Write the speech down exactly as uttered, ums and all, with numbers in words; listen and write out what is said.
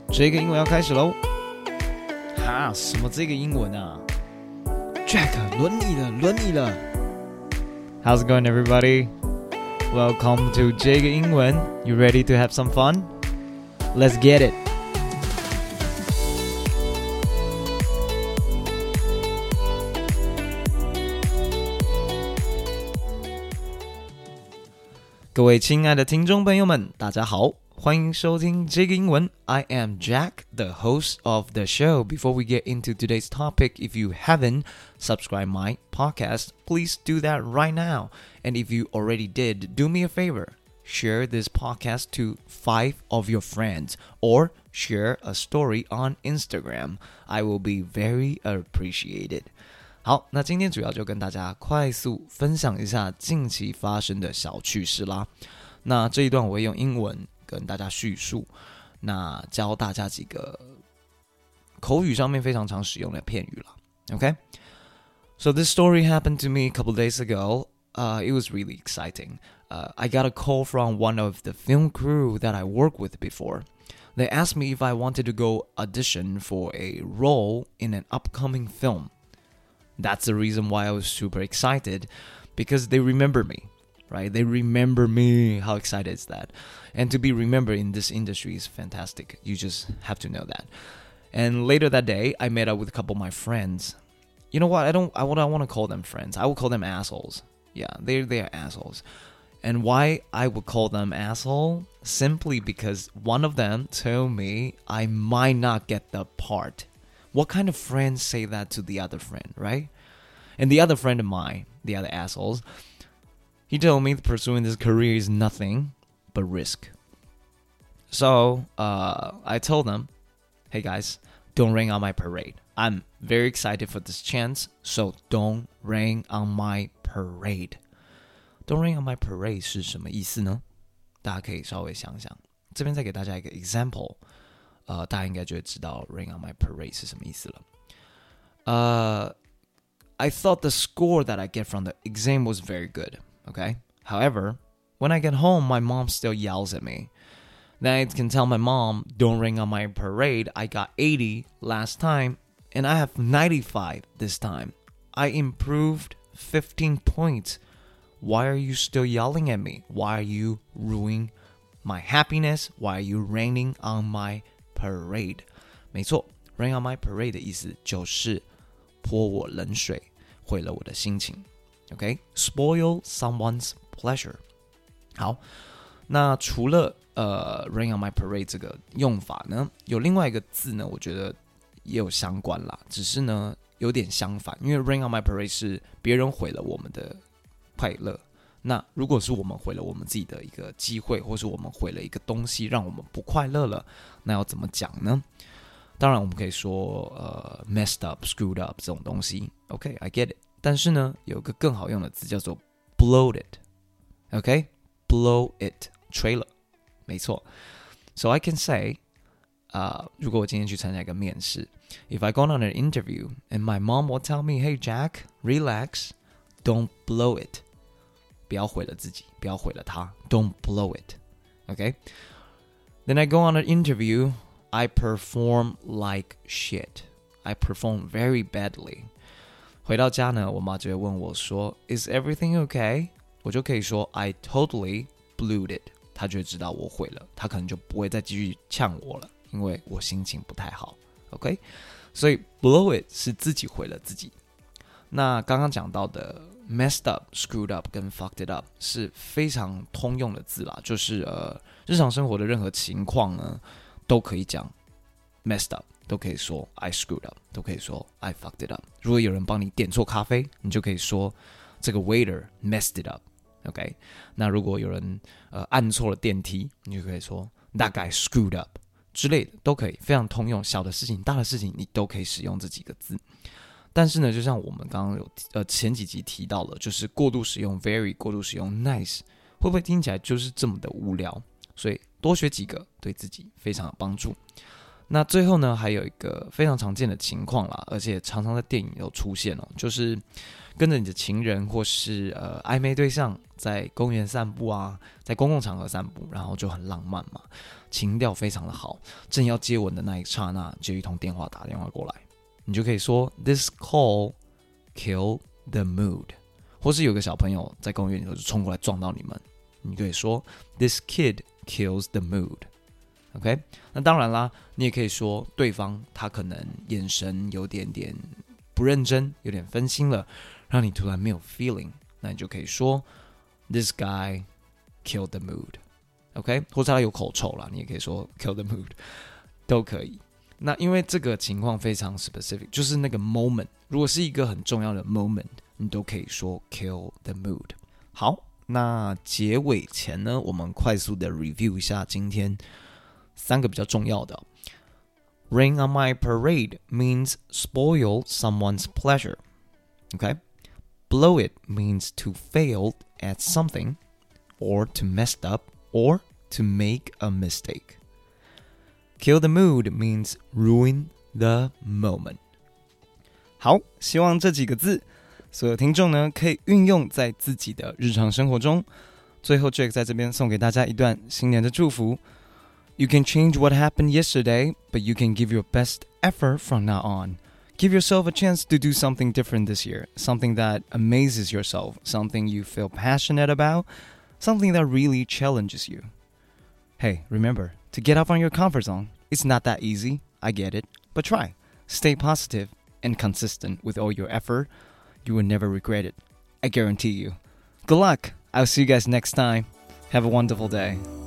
這個英文要開始嘍！哈，什麼這個英文啊 ？Jack， 輪你了，輪你了。How's it going, everybody? Welcome to 這個英文。You ready to have some fun? Let's get it. 各位親愛的聽眾朋友們，大家好。歡迎收聽這個英文 I am Jack, the host of the show. Before we get into today's topic, if you haven't subscribed my podcast, please do that right now. And if you already did, do me a favor. Share this podcast to five of your friends or share a story on Instagram. I will be very appreciated. 好，那今天主要就跟大家快速分享一下近期發生的小趣事啦。那這一段我會用英文跟大家敘述，那教大家幾個口語上面非常常使用的片語啦。Okay? So this story happened to me a couple days ago. Uh, it was really exciting. Uh, I got a call from one of the film crew that I worked with before. They asked me if I wanted to go audition for a role in an upcoming film. That's the reason why I was super excited, because they remember me.Right? They remember me. How excited is that? And to be remembered in this industry is fantastic. You just have to know that. And later that day, I met up with a couple of my friends. You know what? I don't I what I want to call them friends. I would call them assholes. Yeah, they they are assholes. And why I would call them asshole? Simply because one of them told me I might not get the part. What kind of friends say that to the other friend, right? And the other friend of mine, the other assholes,He told me pursuing this career is nothing but risk. So, uh, I told them, hey guys, don't rain on my parade. I'm very excited for this chance, so don't rain on my parade. Don't rain on my parade 是什麼意思呢？大家可以稍微想想。這邊再給大家一個 example， 呃，大家應該就會知道 rain on my parade 是什麼意思了。呃、uh, I thought the score that I get from the exam was very good.Okay. However, when I get home, my mom still yells at me. Then I can tell my mom, don't rain on my parade. I got eighty last time, and I have ninety-five this time. I improved fifteen points. Why are you still yelling at me? Why are you ruining my happiness? Why are you raining on my parade? 沒錯， rain on my parade 的意思就是潑我冷水，毀了我的心情。Okay? Spoil someone's pleasure. 好，那除了呃 rain on my parade 這個用法呢，有另外一個字呢，我覺得也有相關啦，只是呢有點相反，因為 rain on my parade 是別人毀了我們的快樂，那如果是我們毀了我們自己的一個機會，或是我們毀了一個東西，讓我們不快樂了，那要怎麼講呢？當然我們可以說呃 messed up, screwed up 這種東西。Okay, I get it.但是呢，有個更好用的字叫做 blow it，OK？ blow it， 吹了，沒錯。So I can say， uh, 如果我今天去參加一個面試 ，If I go on an interview and my mom will tell me, Hey Jack, relax, don't blow it， 不要毀了自己，不要毀了他 ，don't blow it，OK？ Then I go on an interview, I perform like shit. I perform very badly.回到家呢，我媽就會問我說 Is everything okay? 我就可以說 I totally blew it. 她就會知道我毀了，她可能就不會再繼續嗆我了，因為我心情不太好。OK? 所以 blow it 是自己毀了自己。那剛剛講到的 messed up, screwed up 跟 fucked it up 是非常通用的字啦，就是呃日常生活的任何情況呢都可以講 messed up。都可以說 I screwed up， 都可以說 I fucked it up。如果有人幫你點錯咖啡，你就可以說這個 waiter messed it up。OK， 那如果有人呃按錯了電梯，你就可以說 that guy screwed up 之類的，都可以，非常通用。小的事情、大的事情，你都可以使用這幾個字。但是呢，就像我們剛剛有呃前幾集提到了，就是過度使用 very， 過度使用 nice， 會不會聽起來就是這麼的無聊？所以多學幾個，對自己非常有幫助。 那最後呢，還有一個非常常見的情況啦，而且常常在電影有出現哦，就是跟着你的情人或是呃曖昧對象在公園散步啊，在公共場合散步，然後就很浪漫嘛，情調非常的好，正要接吻的那一剎那，就一通電話打電話過來，你就可以說 This call killed the mood， 或是有個小朋友在公園裡頭就衝過來撞到你們，你可以說 This kid kills the mood。OK， 那當然啦，你也可以說對方他可能眼神有點點不認真，有點分心了，讓你突然沒有 feeling， 那你就可以說 This guy killed the mood。OK， 或者他有口臭啦，你也可以說 kill the mood， 都可以。那因為這個情況非常 specific， 就是那個 moment， 如果是一個很重要的 moment， 你都可以說 kill the mood。好，那結尾前呢，我們快速的 review 一下今天三個比較重要的。Rain on my parade means spoil someone's pleasure. Okay? Blow it means to fail at something, or to mess up, or to make a mistake. Kill the mood means ruin the moment. 好，希望這幾個字所有聽眾呢可以運用在自己的日常生活中。最後 Jake 在這邊送給大家一段新年的祝福。You can change what happened yesterday, but you can give your best effort from now on. Give yourself a chance to do something different this year, something that amazes yourself, something you feel passionate about, something that really challenges you. Hey, remember, to get off on your comfort zone, it's not that easy, I get it, but try. Stay positive and consistent with all your effort. You will never regret it. I guarantee you. Good luck. I'll see you guys next time. Have a wonderful day.